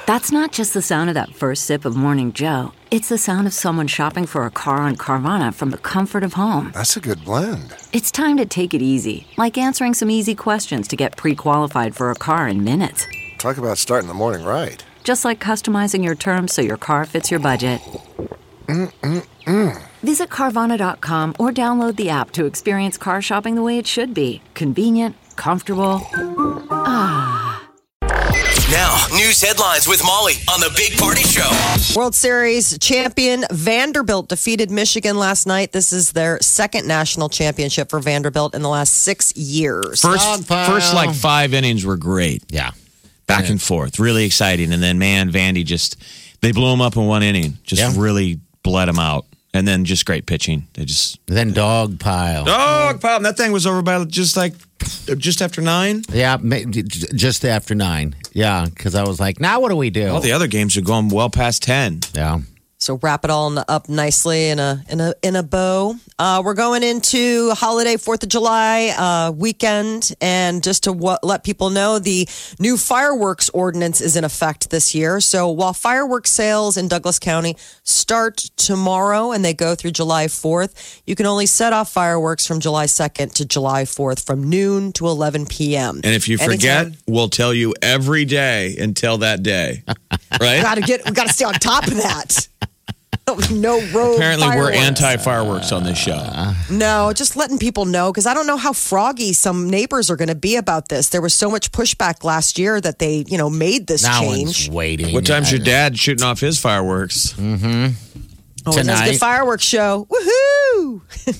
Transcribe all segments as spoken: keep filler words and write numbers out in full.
That's not just the sound of that first sip of Morning Joe. It's the sound of someone shopping for a car on Carvana from the comfort of home. That's a good blend. It's time to take it easy, like answering some easy questions to get pre-qualified for a car in minutes. Talk about starting the morning right. Just like customizing your terms so your car fits your budget. Mm-mm-mm. Visit Carvana dot com or download the app to experience car shopping the way it should be. Convenient, comfortable. Ah. Now, news headlines with Molly on the Big Party Show. World Series champion Vanderbilt defeated Michigan last night. This is their second national championship for Vanderbilt in the last six years. First, first like five innings were great. Yeah. Back Yeah. and forth. Really exciting. And then, man, Vandy just, they blew him up in one inning. Just Yeah. really bled him out. And then just great pitching. They just. Then dog pile. Dog pile. That thing was over by just like, just after nine. Yeah, ma- j- j- just after nine. Yeah, because I was like, now what do we do? All the other games are going well past ten. Yeah. So wrap it all up nicely in a in a in a bow. Uh, we're going into holiday Fourth of July uh, weekend, and just to w- let people know, the new fireworks ordinance is in effect this year. So while fireworks sales in Douglas County start tomorrow and they go through July fourth, you can only set off fireworks from July second to July fourth from noon to eleven p.m. And if you forget, Anytime. we'll tell you every day until that day. Right? Got to get we got to stay on top of that. No road. Apparently, we're fireworks. anti-fireworks on this show. No, just letting people know, because I don't know how froggy some neighbors are going to be about this. There was so much pushback last year that they, you know, made this Now change. one's waiting. What time's your dad shooting off his fireworks? Oh, it was a Tonight. good fireworks show. Woohoo!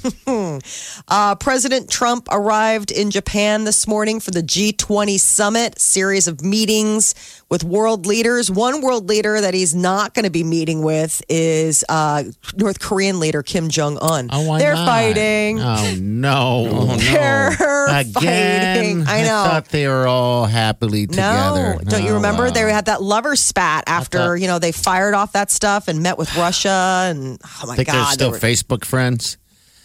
uh, President Trump arrived in Japan this morning for the G twenty summit, series of meetings with world leaders. One world leader that he's not going to be meeting with is uh, North Korean leader Kim Jong-un. Oh, why They're not? fighting. Oh, no. Oh, no. They're Again. fighting. I know. I thought they were all happily together. No, don't you Oh, remember? wow. They had that lover spat after, thought- you know, they fired off that stuff and met with Russia. And oh my think God. they're they still were- Facebook friends?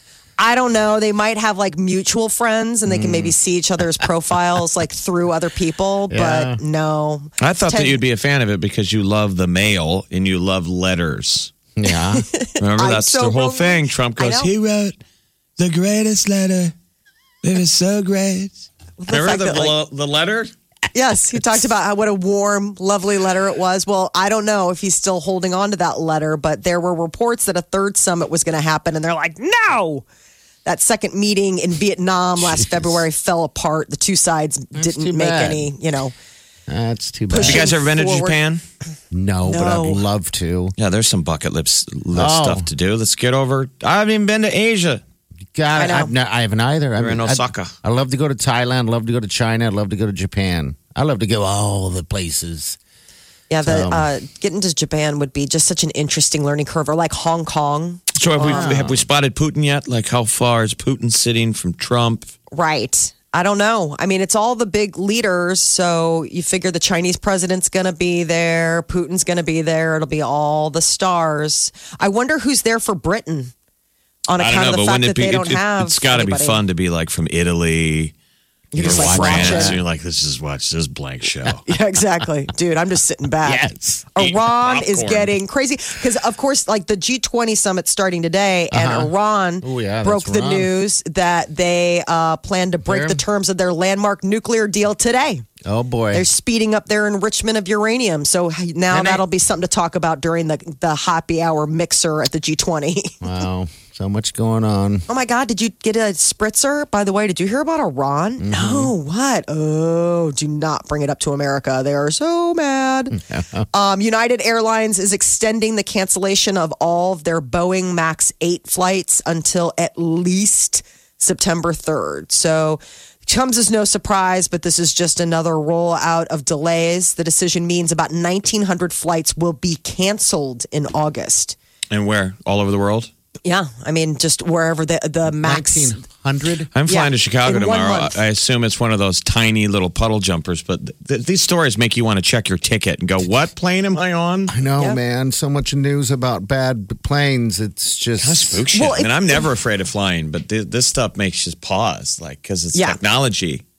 I don't know. They might have like mutual friends and they can maybe see each other's profiles like through other people, Yeah. but no. I thought Ten- that you'd be a fan of it because you love the mail and you love letters. Yeah. Remember, I'm that's so the whole wrong. thing. Trump I goes, know. he wrote the greatest letter. It was so great. Remember fact the, that, like- the letter? Yes, he talked about how what a warm, lovely letter it was. Well, I don't know if he's still holding on to that letter, but there were reports that a third summit was going to happen, and they're like, no. That second meeting in Vietnam last February fell apart. The two sides That's didn't too make bad. any, you know. That's too bad. Have you guys ever been to Forward. Japan? No, but No. I'd love to. Yeah, there's some bucket list, list Oh. stuff to do. Let's get over. I haven't even been to Asia. God, I know. I've not, I haven't either. I We're in mean, I'd- Osaka. I love to go to Thailand. Love to go to China. I'd love to go to Japan. I love to go all the places. Yeah, the, So- uh, getting to Japan would be just such an interesting learning curve, or like Hong Kong. So have we have we spotted Putin yet? Like how far is Putin sitting from Trump? Right. I don't know. I mean, it's all the big leaders. So you figure the Chinese president's going to be there. Putin's going to be there. It'll be all the stars. I wonder who's there for Britain on I account don't know, of the but fact wouldn't that it be? they don't it, have it's got to be anybody. fun to be like from Italy. You know, just like France, watch and it. you're like, let's just watch this blank show. Yeah, exactly. Dude, I'm just sitting back. Yes. Iran Eat is popcorn. getting crazy because, of course, like the G twenty summit starting today, and Uh-huh. Iran Oh, yeah, broke that's the Iran. news that they uh, plan to break There. the terms of their landmark nuclear deal today. Oh, boy. They're speeding up their enrichment of uranium. So now And they- that'll be something to talk about during the, the happy hour mixer at the G twenty. Wow. So much going on. Oh my God, did you get a spritzer? By the way, did you hear about Iran? Mm-hmm. No, what? Oh, do not bring it up to America. They are so mad. um, United Airlines is extending the cancellation of all of their Boeing MAX eight flights until at least September third. So it comes as no surprise, but this is just another rollout of delays. The decision means about nineteen hundred flights will be canceled in August. And where? All over the world? Yeah, I mean, just wherever the the max. nineteen hundred? I'm flying Yeah, to Chicago in one tomorrow. month. I assume it's one of those tiny little puddle jumpers, but th- these stories make you want to check your ticket and go, what plane am I on? I know, Yeah. man. So much news about bad planes. It's just. Kind of spook shit. Well, I mean, it- I'm never afraid of flying, but th- this stuff makes you pause, like, because it's Yeah. technology.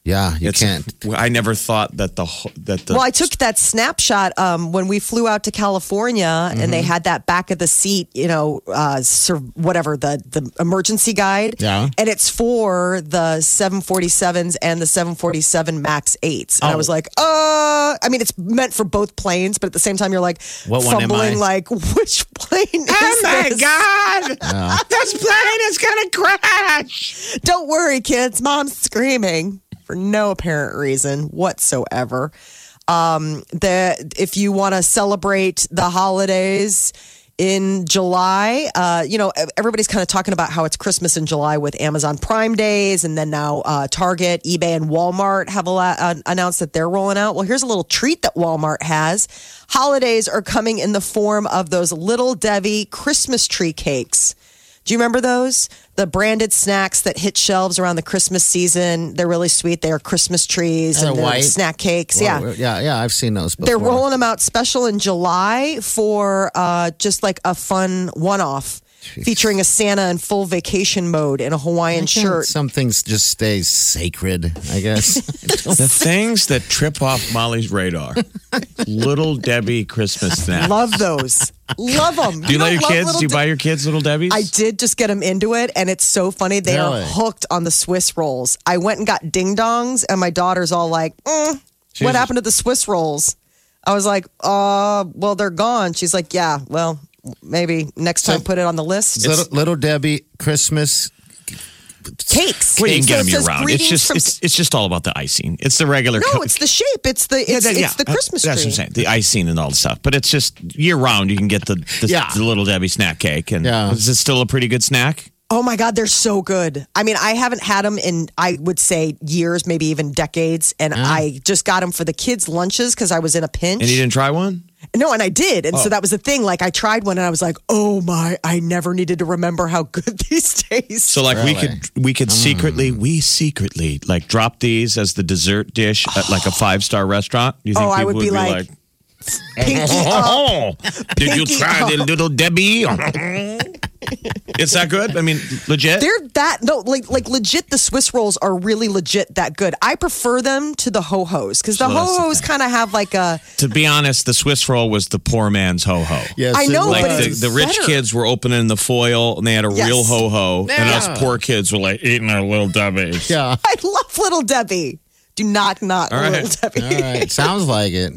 Yeah, you It's- can't. I never thought that the whole- that the Well, I took that snapshot um, when we flew out to California, and they had that back of the seat, you know, uh, sur- whatever the the emergency guide. Yeah. and it's for the seven forty-sevens and the seven forty-seven Max eights. And I Oh. was like, uh, I mean, it's meant for both planes, but at the same time, you're like What one am fumbling, I? like which plane? Oh is my this? God! This plane is gonna crash. Don't worry, kids. Mom's screaming for no apparent reason whatsoever. Um, the if you want to celebrate the holidays in July, uh, you know, everybody's kind of talking about how it's Christmas in July with Amazon Prime Days, and then now uh, Target, eBay, and Walmart have a la- uh, announced that they're rolling out. Well, here's a little treat that Walmart has. Holidays are coming in the form of those Little Debbie Christmas tree cakes. Do you remember those? The branded snacks that hit shelves around the Christmas season. They're really sweet. They are Christmas trees They're and they're white. snack cakes. Well, yeah. yeah, yeah. I've seen those before. They're rolling them out special in July for uh, just like a fun one off featuring a Santa in full vacation mode in a Hawaiian shirt. Some things just stay sacred, I guess. The things that trip off Molly's radar. Little Debbie Christmas snacks. Love those. Love them. Do you let your kids? Do you buy your kids Little Debbie's? I did just get them into it, and it's so funny. They Really? are hooked on the Swiss rolls. I went and got ding dongs, and my daughter's all like, mm, "What happened to the Swiss rolls?" I was like, "Uh, well, they're gone." She's like, "Yeah, well, maybe next time So- put it on the list." little, little Debbie Christmas. Cakes. Well, you can So get it them year says round. It's greetings just from- it's, it's just all about the icing. It's the regular. no, co- it's the shape. It's the it's, Yeah, that- yeah. it's the Christmas That's tree. what I'm saying. The icing and all the stuff. But it's just year round. You can get the the, Yeah. the Little Debbie snack cake. And Yeah. is it still a pretty good snack? Oh my God, they're so good. I mean, I haven't had them in, I would say, years, maybe even decades. And I just got them for the kids' lunches because I was in a pinch. And you didn't try one? No, and I did. And Oh. so that was the thing. Like, I tried one and I was like, oh my, I never needed to remember how good these taste. So like we Really? could we could secretly we secretly like drop these as the dessert dish at like a five star restaurant. You think Oh, I people would be like, pinky up. Oh, did you Pinky try the up. Little Debbie? It's that good? I mean, legit? They're that, no, like, like legit, the Swiss rolls are really legit that good. I prefer them to the ho-hos because the So that's the ho-hos kind of have like a, To be honest, the Swiss roll was the poor man's ho-ho. Yes, I it know, Like but was. the, it's the rich better. kids were opening the foil and they had a Yes. real ho-ho. And Yeah. us poor kids were like eating our Little Debbie's. Yeah. I love Little Debbie. Do not not All right. Little Debbie. All right. Sounds like it.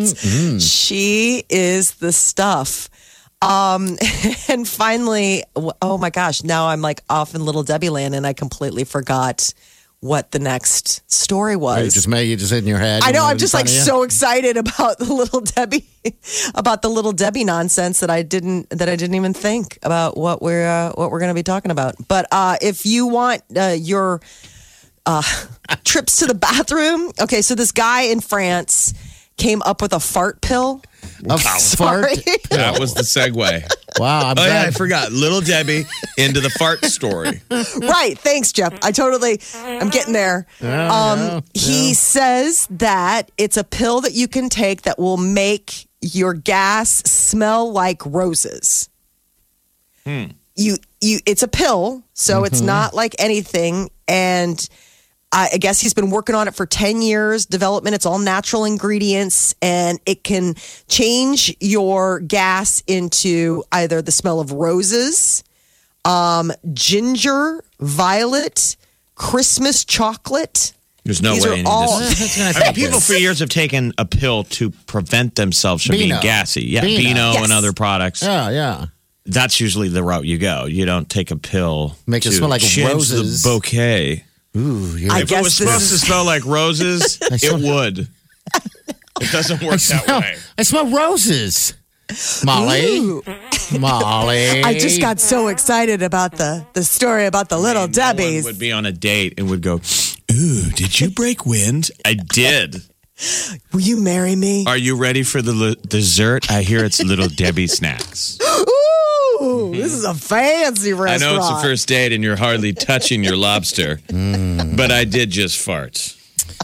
She is the stuff. Um, and finally, oh my gosh, now I'm like off in Little Debbie land and I completely forgot what the next story You was. just made you just in your head. I know, you I'm just in like front of you. so excited about the Little Debbie, about the Little Debbie nonsense that I didn't that I didn't even think about what we're uh, what we're going to be talking about. But uh, if you want uh, your uh, trips to the bathroom, okay, so this guy in France came up with a fart pill. A Sorry. fart. That was the segue. Wow. I'm Oh yeah, I glad. forgot. Little Debbie into the fart story. Right. Thanks, Jeff. I totally, I'm getting there. um, he says that it's a pill that you can take that will make your gas smell like roses. You, you, it's a pill, so it's not like anything. And I I guess he's been working on it for ten years, development. It's all natural ingredients and it can change your gas into either the smell of roses, um, ginger, violet, Christmas chocolate. There's no These way. are any of all- this- I mean, people for years have taken a pill to prevent themselves from being Beano. gassy. Yeah, Beano. Beano Yes. and other products. Yeah, yeah. That's usually the route you go. You don't take a pill. Make it to smell like change roses. The bouquet. Ooh, you're I If guess it was this supposed is- to smell like roses, it smell- would. It doesn't work that smell, way. I smell roses. Molly. Ooh. Molly. I just got so excited about the, the story about the little No one Debbies. would be on a date and would go, "Ooh, did you break wind?" I did. Will you marry me? Are you ready for the li- dessert? I hear it's Little Debbie snacks. Ooh, this is a fancy I restaurant. know it's the first date and you're hardly touching your lobster, but I did just fart.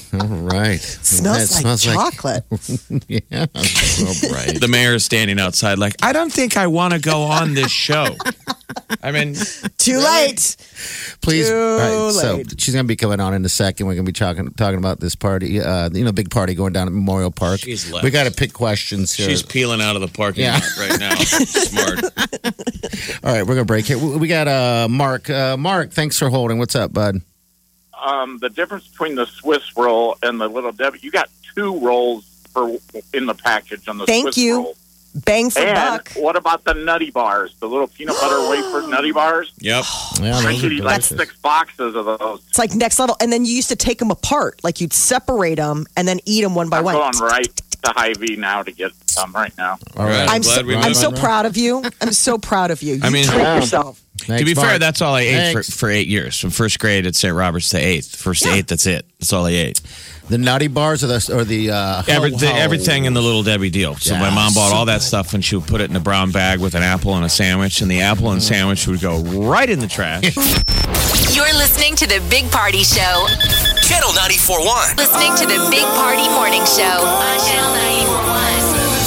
All right. Smells That like chocolate. yeah. All right. The mayor is standing outside like, I don't think I want to go on this show. I mean, Too late. Please. Too Right, so late. she's going to be coming on in a second. We're going to be talking talking about this party, uh, you know, big party going down at Memorial Park. She's left. We got to pick questions here. she's peeling out of the parking Yeah. lot right now. Smart. All right, we're going to break here. We we got uh, Mark. Uh, Mark, thanks for holding. What's up, bud? Um, the difference between the Swiss roll and the Little Debbie, you got two rolls for in the package on the Thank Swiss you. roll. Bang for And buck. what about the Nutty Bars, the little peanut butter wafer Nutty Bars? Yep. Yeah, I those could are eat like delicious. six boxes of those. It's like next level. And then you used to take them apart. Like you'd separate them and then eat them one by I'm one. going right to Hy-Vee now to get some right now. All right. I'm I'm glad so, we I'm moved. so proud of you. I'm so proud of you. You I mean- treat yourself. Thanks, to be fair, Mark. that's all I ate for, Thanks. for eight years. From first grade at Saint Robert's to eighth. First to eighth, that's it. That's all I ate. The Nutty Bars or the, or the uh, Every, ho- the, ho- everything in the Little Debbie deal. So Yeah, my mom bought so all that stuff and she would put it in a brown bag with an apple and a sandwich, and the apple and sandwich would go right in the trash. You're listening to the Big Party Show. Channel ninety-four point one. Listening to the Big Party Morning Show on Channel ninety-four point one.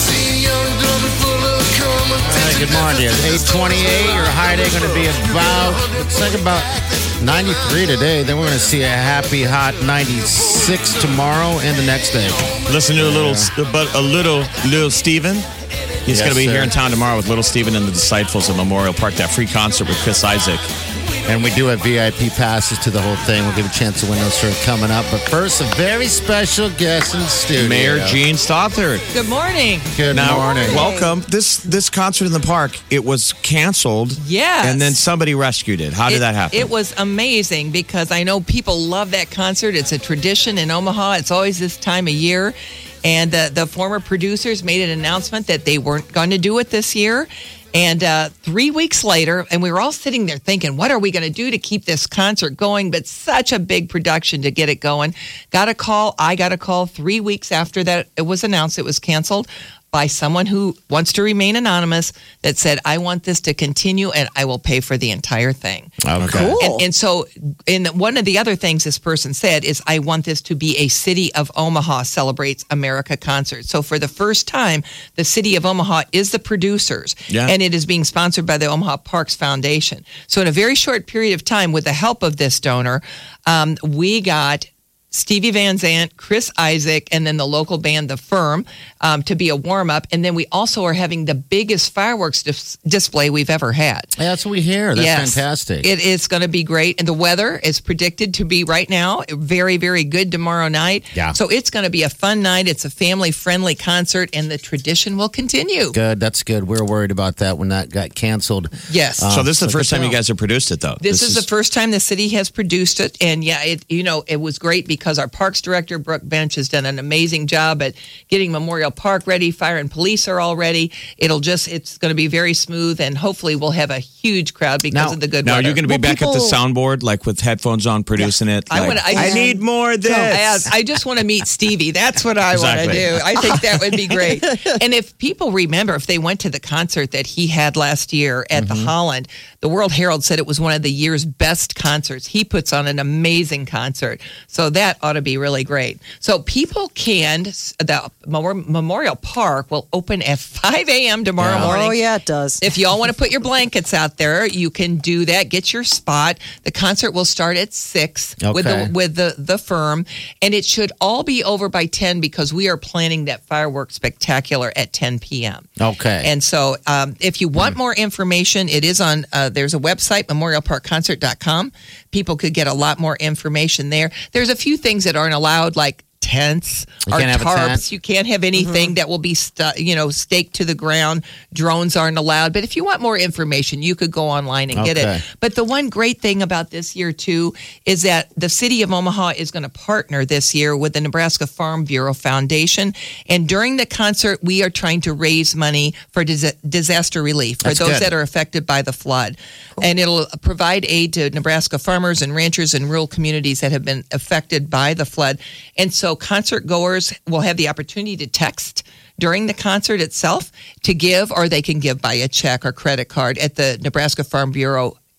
All right, good morning. It's eight twenty-eight. Your high day going to be about, looks like about ninety-three today. Then we're going to see a happy hot ninety-six tomorrow and the next day. Listen to a little, but a little, little Steven. He's Yes, going to be sir. here in town tomorrow with Little Steven and the Disciples at Memorial Park. That free concert with Chris Isaac. And we do have V I P passes to the whole thing. We'll give a chance to win those for coming up. But first, a very special guest in the studio. Mayor Gene Stothard. Good morning. Good Now, morning. welcome. This this concert in the park, it was canceled. Yes. And then somebody rescued it. How did It- that happen? It was amazing because I know people love that concert. It's a tradition in Omaha. It's always this time of year. And the, the former producers made an announcement that they weren't going to do it this year. And uh, three weeks later, and we were all sitting there thinking, what are we going to do to keep this concert going? But such a big production to get it going. Got a call. I got a call three weeks after that it was announced it was canceled by someone who wants to remain anonymous that said, I want this to continue and I will pay for the entire thing. Okay. Cool. And, and so, in one of the other things this person said is, I want this to be a City of Omaha Celebrates America concert. So, for the first time, the City of Omaha is the producers, Yeah. and it is being sponsored by the Omaha Parks Foundation. So, in a very short period of time, with the help of this donor, um, we got Stevie Van Zandt, Chris Isaac, and then the local band, The Firm, um, to be a warm-up. And then we also are having the biggest fireworks dis- display we've ever had. Yeah, that's what we hear. That's Yes. fantastic. It is going to be great. And the weather is predicted to be right now very, very good tomorrow night. Yeah. So it's going to be a fun night. It's a family-friendly concert, and the tradition will continue. Good. That's good. We were worried about that when that got canceled. Yes. so this is the so first good time you job. guys have produced it, though. This, is, the first time the city has produced it, and yeah, it you know it was great because our parks director Brooke Bench has done an amazing job at getting Memorial Park ready. Fire and police are all ready. It'll just it's going to be very smooth, and hopefully we'll have a huge crowd because Now- of the good Now, are weather. you going to be Well, back at the people- soundboard, like with headphones on, producing it? I Like, wanna- I I just- need more of this. I, I just want to meet Stevie. That's what I want to Exactly. do. I think that would be great. And if people remember, if they went to the concert that he had last year at the Holland, the World Herald said it was one of the year's best concerts. He puts on an amazing concert. So that ought to be really great. So people can, the Memorial Park will open at five a.m. tomorrow Yeah. morning. Oh, yeah, it does. If y'all want to put your blankets out there, you can do that. Get your spot. The concert will start at six with Okay. the with the the firm, and it should all be over by ten because we are planning that fireworks spectacular at ten p.m. Okay. And so, um, if you want more information, it is on. Uh, there's a website, memorial park concert dot com. People could get a lot more information there. There's a few things that aren't allowed, like tents You or can't have a tarps. tent? You can't have anything that will be, stu- you know, staked to the ground. Drones aren't allowed. But if you want more information, you could go online and get Okay. it. But the one great thing about this year, too, is that the city of Omaha is going to partner this year with the Nebraska Farm Bureau Foundation. And during the concert, we are trying to raise money for dis- disaster relief for That's those good. that are affected by the flood. And it'll provide aid to Nebraska farmers and ranchers in rural communities that have been affected by the flood. And so concert goers will have the opportunity to text during the concert itself to give, or they can give by a check or credit card at the Nebraska Farm Bureau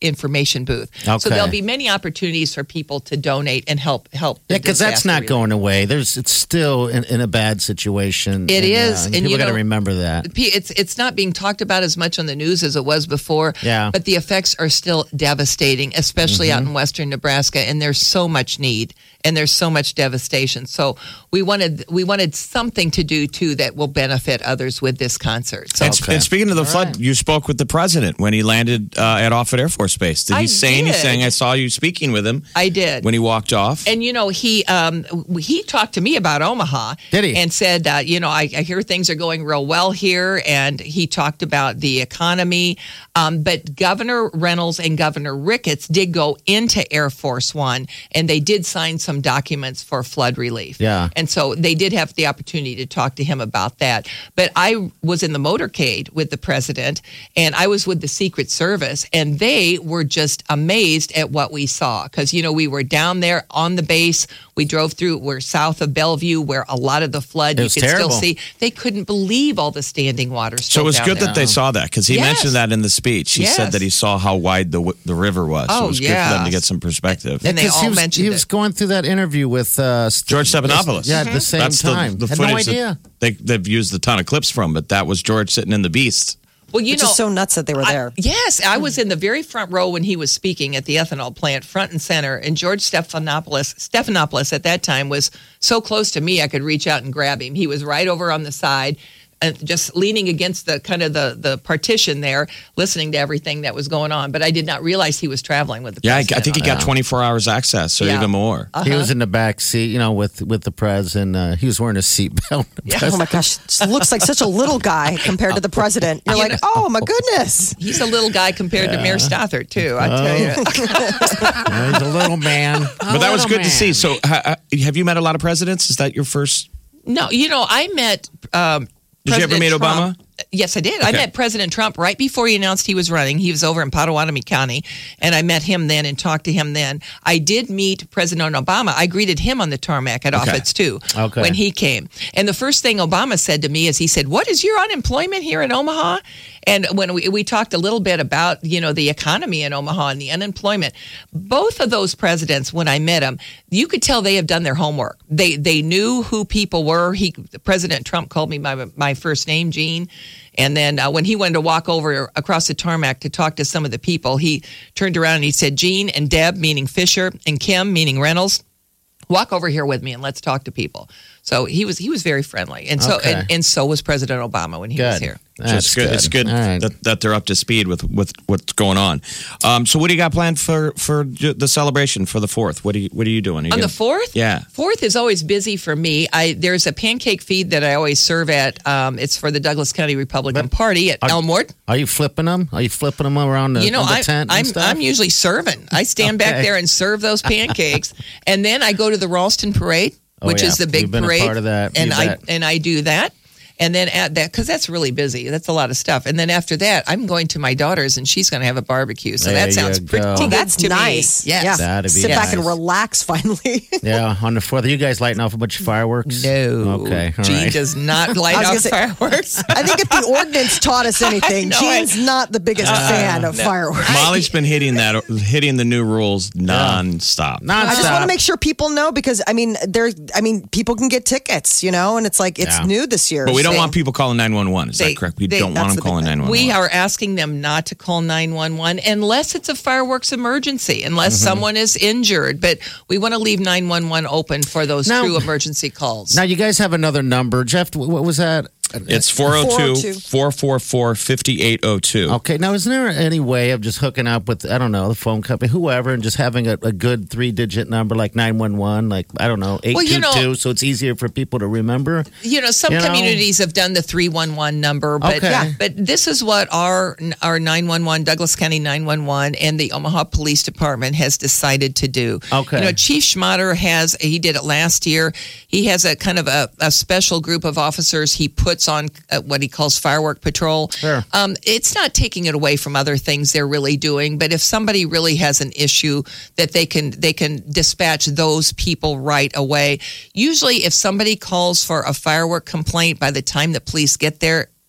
information booth. So Okay. there'll be many opportunities for people to donate and help help. the Yeah, because that's disaster not relief. going away. There's, it's still in, in a bad situation. It and, is, uh, and people you got to know- remember that. P- It's it's not being talked about as much on the news as it was before. Yeah. But the effects are still devastating, especially out in western Nebraska, and there's so much need and there's so much devastation. So we wanted we wanted something to do too that will benefit others with this concert. So And, sp- and speaking of the flood, you spoke with the president when he landed uh, at Offutt Air Force Base. Did he I say did. anything? I saw you speaking with him. I did. When he walked off. And you know, he um, he talked to me about Omaha. Did he? And said, uh, you know, I, I hear things are going real well here. And he talked about the economy. Um, but Governor Reynolds and Governor Ricketts did go into Air Force One, and they did sign some documents for flood relief. Yeah. And so they did have the opportunity to talk to him about that. But I was in the motorcade with the president, and I was with the Secret Service, and they were just amazed at what we saw. Because, you know, we were down there on the base. We drove through, we're south of Bellevue, where a lot of the flood, It you was could terrible. still see. They couldn't believe all the standing water So still it was down good there. that they saw that because he Yes. mentioned that in the speech. He Yes. said that he saw how wide the w- the river was. so Oh, it was good for them to yes. get some perspective. And they 'Cause all he was, mentioned he was it. going through that interview with uh, George Stephanopoulos. Yeah, at the same That's time. the, the Had no footage that idea. they, they've used a ton of clips from, but that was George sitting in the Beast. Well, you Which know, is so nuts that they were I- there. yes, I was in the very front row when he was speaking at the ethanol plant, front and center. And George Stephanopoulos, Stephanopoulos at that time was so close to me, I could reach out and grab him. He was right over on the side, and just leaning against the kind of the, the partition there, listening to everything that was going on. But I did not realize he was traveling with the Yeah, I, I president think he on got that. twenty-four hours access, or Yeah. even more. Uh-huh. He was in the back seat, you know, with with the prez, and uh, he was wearing a seatbelt. Oh my gosh, it looks like such a little guy compared to the president. You're You like, know- oh my goodness. He's a little guy compared to Mayor Stothert, too, I tell you. Yeah, he's a little man. But that was good to see. So, ha, have you met a lot of presidents? Is that your first? No, you know, I met. Um, Did you ever President meet Trump. Obama? Yes, I did. I Okay. met President Trump right before he announced he was running. He was over in Potawatomi County, and I met him then and talked to him then. I did meet President Obama. I greeted him on the tarmac at Okay. Offutt's too Okay. when he came. And the first thing Obama said to me is he said, "What is your unemployment here in Omaha?" And when we, we talked a little bit about, you know, the economy in Omaha and the unemployment, both of those presidents, when I met them, you could tell they have done their homework. They they knew who people were. He President Trump called me by my first name, Gene. And then uh, when he wanted to walk over across the tarmac to talk to some of the people, he turned around and he said, "Gene and Deb," meaning Fisher, and Kim, meaning Reynolds, "walk over here with me and let's talk to people." So he was he was very friendly, and so Okay. and, and so was President Obama when he was Good. here. That's it's good. It's good All right. that, that they're up to speed with, with what's going on. Um, so, what do you got planned for, for the celebration for the fourth? What are you What are you doing? Are you On the gonna- fourth? Yeah. Fourth is always busy for me. I There's a pancake feed that I always serve at. Um, it's for the Douglas County Republican Party at Are- Elmwood. Are you flipping them? Are you flipping them around the, You know, on the I, tent and I'm stuff? I'm usually serving. I stand back Okay. there and serve those pancakes, and then I go to the Ralston Parade, Oh, which yeah. is the big You've been a parade, part of that. and You I bet. and I do that. And then at that, because that's really busy. That's a lot of stuff. And then after that, I'm going to my daughter's, and she's going to have a barbecue. So There that sounds you pretty go. good Oh, that's to nice. me. Yes. Yeah. That'd be Sit back and nice. relax finally. Yeah, on the fourth. Are you guys lighting off a bunch of fireworks? No. Okay, all Gene right. does not light I was off gonna say- fireworks. I think if the ordinance taught us anything, know Gene's not the biggest fan of fireworks. Molly's been hitting that, hitting the new rules nonstop. Nonstop. I just want to make sure people know because I mean, there. I mean, people can get tickets, you know, and it's like it's Yeah. new this year. But we don't so- want people calling nine one one. Is They- that correct? We they- don't that's want the them big calling thing. nine one one. We are asking them not to call nine one one unless it's a fireworks emergency, unless Mm-hmm. someone is injured. But we want to leave nine one one open for those Now- true emergency calls. Now, you guys have another number. Jeff, wh- what was that? It's four oh two, four four four, five eight oh two. Okay, now is there any way of just hooking up with, I don't know, the phone company, whoever, and just having a, a good three-digit number like nine one one, like, I don't know, eight two two, Well, you know- so it's easier for people to remember? You know, some You know? communities have done the three one one number, but Okay. yeah, but this is what our our nine one one, Douglas County nine one one, and the Omaha Police Department has decided to do. Okay. You know, Chief Schmatter has, he did it last year. He has a kind of a, a special group of officers he puts on uh, what he calls firework patrol. Sure. Um, it's not taking it away from other things they're really doing, but if somebody really has an issue that they can they can dispatch those people right away. Usually if somebody calls for a firework complaint, by the time the police get there,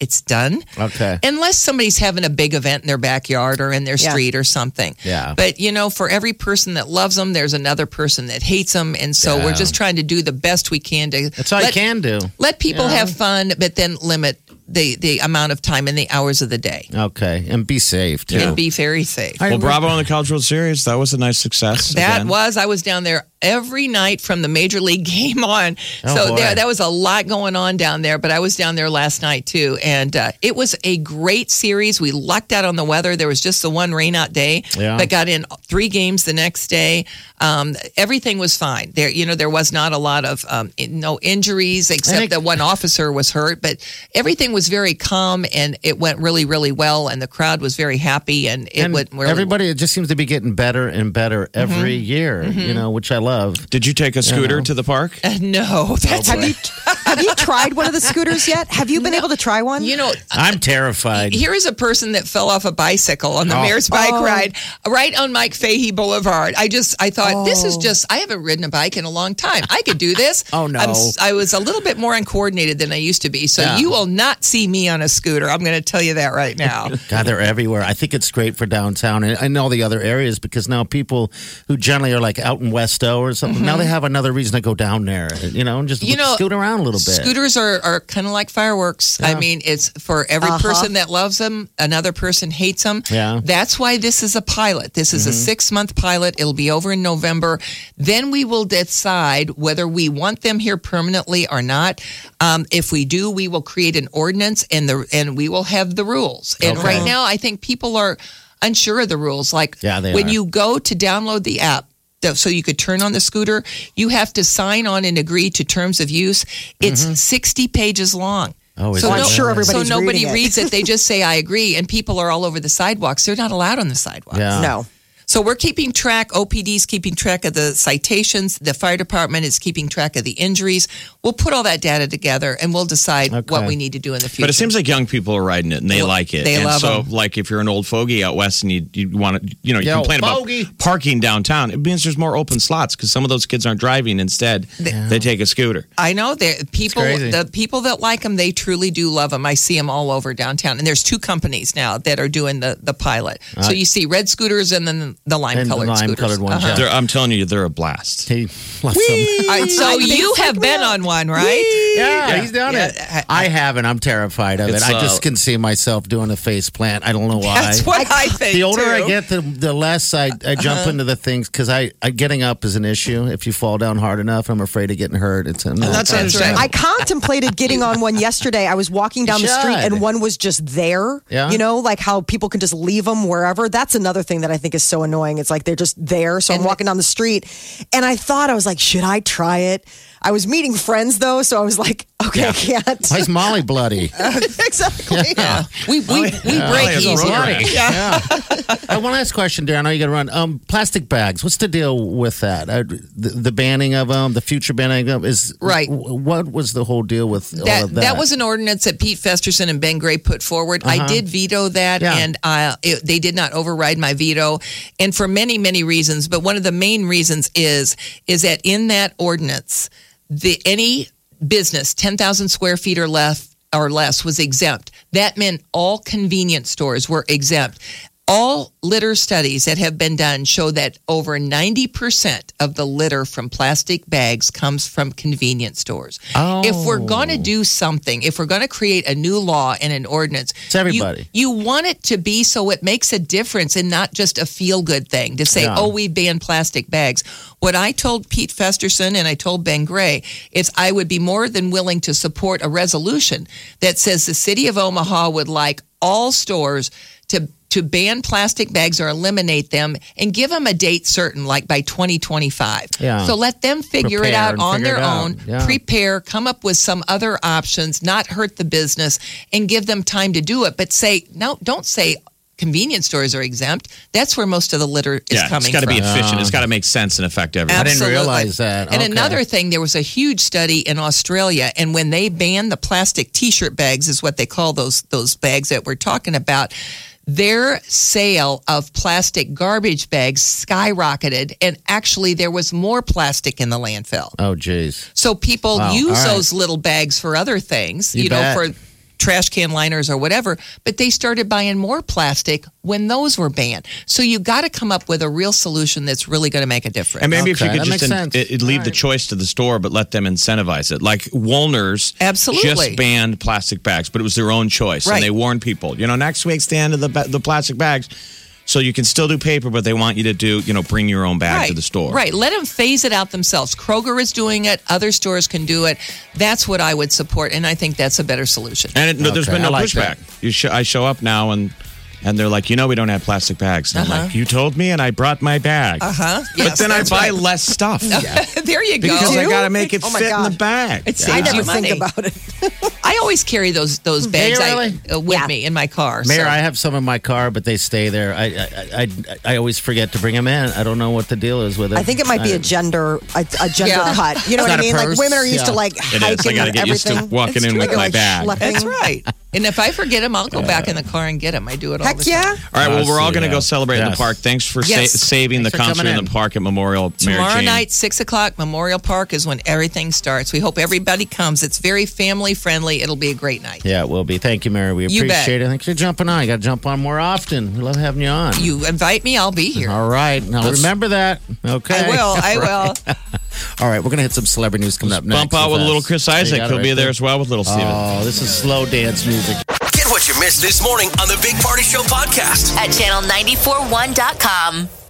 it's done. Okay. Unless somebody's having a big event in their backyard or in their Yeah. street or something. Yeah. But, you know, for every person that loves them, there's another person that hates them. And so Yeah. we're just trying to do the best we can to That's all let, you can do. let people Yeah. have fun, but then limit the, the amount of time and the hours of the day. Okay. And be safe, too. And be very safe. Well, bravo on the College World Series. That was a nice success. That again. was, I was down there every night from the major league game on. Oh, so boy. there, that was a lot going on down there, but I was down there last night too. And uh, it was a great series. We lucked out on the weather. There was just the one rain out day, Yeah. but got in three games the next day. Um, everything was fine. There, you know, there was not a lot of um, no injuries except think- that one officer was hurt, but everything was very calm and it went really, really well. And the crowd was very happy and it And went really everybody, it just seems to be getting better and better every year, you know, which I love. Did you take a scooter to the park? Uh, no, that's Have you have you tried one of the scooters yet? Have you been able to try one? you know. I'm terrified. Here is a person that fell off a bicycle on the Oh. mayor's bike Oh. ride right on Mike Fahey Boulevard. I just, I thought, this is Oh. just, I haven't ridden a bike in a long time. I could do this. Oh, no. I'm, s- I was a little bit more uncoordinated than I used to be. So Yeah. you will not see me on a scooter. I'm going to tell you that right now. God, they're everywhere. I think it's great for downtown and, and all the other areas because now people who generally are like out in Westo or something, now they have another reason to go down there, you know, and just You know, scoot around a little bit. Scooters are, are kind of like fireworks. I Yeah. mean, it's for every Uh-huh. person that loves them, another person hates them. Yeah. That's why this is a pilot. This is a six month pilot. It'll be over in November. Then we will decide whether we want them here permanently or not. Um, if we do, we will create an ordinance and the and we will have the rules. And Okay. right now, I think people are unsure of the rules. Like Yeah, they when are. you go to download the app, th- so you could turn on the scooter, you have to sign on and agree to terms of use. It's sixty pages long. Oh, is so it? I'm sure everybody's so nobody reading it. reads it. They just say, I agree. And people are all over the sidewalks. They're not allowed on the sidewalks. Yeah. No. So we're keeping track. O P D's keeping track of the citations. The fire department is keeping track of the injuries. We'll put all that data together and we'll decide Okay. what we need to do in the future. But it seems like young people are riding it and they Well, like it. they and love so, 'em. like, if you're an old fogey out west and you, you want to, you know, you Yo, complain fogey. about parking downtown, it means there's more open slots because some of those kids aren't driving. Instead, they take a scooter. I know that people, crazy. the people that like them, they truly do love them. I see them all over downtown, and there's two companies now that are doing the the pilot. So you see red scooters and then the lime And the colored scooters. lime-colored ones, Uh-huh. yeah. They're, I'm telling you, they're a blast. He loves them. All right, so you have been on one, right? Yeah, he's done Yeah. it. I haven't. I'm terrified of it. It's, I uh, just can see myself doing a face plant. I don't know why. That's what I, think. the older too. I get, the, the less I, I jump Uh-huh. into the things because I, I getting up is an issue. If you fall down hard enough, I'm afraid of getting hurt. It's no, that's That's understandable. I contemplated getting on one yesterday. I was walking down You the street should. and one was just there. Yeah. You know, like how people can just leave them wherever. That's another thing that I think is so annoying. It's like they're just there. So I'm And- walking down the street and I thought, I was like, should I try it? I was meeting friends though. So I was like, okay, I can't. Why is Molly bloody? exactly. Yeah. We we, we Yeah. break Oh, yeah, easy. bloody. Yeah. uh, one last question, Darren. I know you got to run. Um, plastic bags. What's the deal with that? Uh, the, the banning of them, the future banning of them is Right. w- What was the whole deal with all That, of that? that was an ordinance that Pete Festerson and Ben Gray put forward. I did veto that, Yeah. and uh, it, they did not override my veto, and for many, many reasons. But one of the main reasons is is that in that ordinance, the any business ten thousand square feet or less or less was exempt. That meant all convenience stores were exempt. All litter studies that have been done show that over ninety percent of the litter from plastic bags comes from convenience stores. Oh. If we're going to do something, if we're going to create a new law and an ordinance, It's everybody. You, you want it to be so it makes a difference and not just a feel-good thing to say, Yeah. oh, we ban plastic bags. What I told Pete Festerson and I told Ben Gray is I would be more than willing to support a resolution that says the city of Omaha would like all stores to to ban plastic bags or eliminate them and give them a date certain, like by twenty twenty-five. Yeah. So let them figure it Prepare out and on figure their it out. own, Yeah. prepare, come up with some other options, not hurt the business, and give them time to do it. But say, no, don't say convenience stores are exempt. That's where most of the litter is Yeah, coming it's got to from. be efficient. It's got to make sense and affect everyone. I didn't Absolutely. realize that. And Okay. another thing, there was a huge study in Australia, and when they banned the plastic T-shirt bags, is what they call those those bags that we're talking about. Their sale of plastic garbage bags skyrocketed, and actually there was more plastic in the landfill. Oh, geez. So people Wow. use All right. those little bags for other things, You you, know, bet. for trash can liners or whatever, but they started buying more plastic when those were banned. So you got to come up with a real solution that's really going to make a difference. And maybe Okay, if you that could makes just sense. it, it leave All the right. choice to the store, but let them incentivize it. Like Woolner's Absolutely. just banned plastic bags, but it was their own choice. Right. And they warned people, you know, next week's the end of the, ba- the plastic bags. So you can still do paper, but they want you to do, you know, bring your own bag right. to the store. Right. Let them phase it out themselves. Kroger is doing it. Other stores can do it. That's what I would support. And I think that's a better solution. And it, no, there's Okay, been no I like pushback. that. You sh- I show up now and and they're like, you know, we don't have plastic bags. And I'm Uh-huh. like, you told me, and I brought my bag. Uh-huh. But Yes, then I that's buy right. less stuff. There you go. Because I got to make it Oh my fit in God. the bag. It I saves never you think money. about it. I always carry those those bags you I- really? uh, with Yeah. me in my car. Mayor, so. I have some in my car, but they stay there. I I, I I always forget to bring them in. I don't know what the deal is with it. I think it might be a gender a, a gender Yeah. cut. You know It's what I not a mean? Like purse. women are used to Yeah. like It hiking is. I got to and get used everything. to walking It's in true. with Like, my like bag. schlepping. That's right. And if I forget them, I'll go back in the car and get them. I do it all Heck the time. yeah. All right, well, we're all going to go Yeah. celebrate in the Yes. park. Thanks for Yes. sa- saving Thanks the for concert coming in in. the park at Memorial. Mary Tomorrow Jane. night, six o'clock, Memorial Park is when everything starts. We hope everybody comes. It's very family friendly. It'll be a great night. Yeah, it will be. Thank you, Mary. We You bet. appreciate it. Thanks for jumping on. You got to jump on more often. We love having you on. You invite me, I'll be here. All right. Now remember that. Okay. I will. I will. All right. We're going to hit some celebrity news coming up next. Bump out with us. little Chris You Isaac. got it He'll right be there as well with little Steven. Oh, this is slow dance music. Get what you missed this morning on the Big Party Show podcast. At channel nine four one dot com.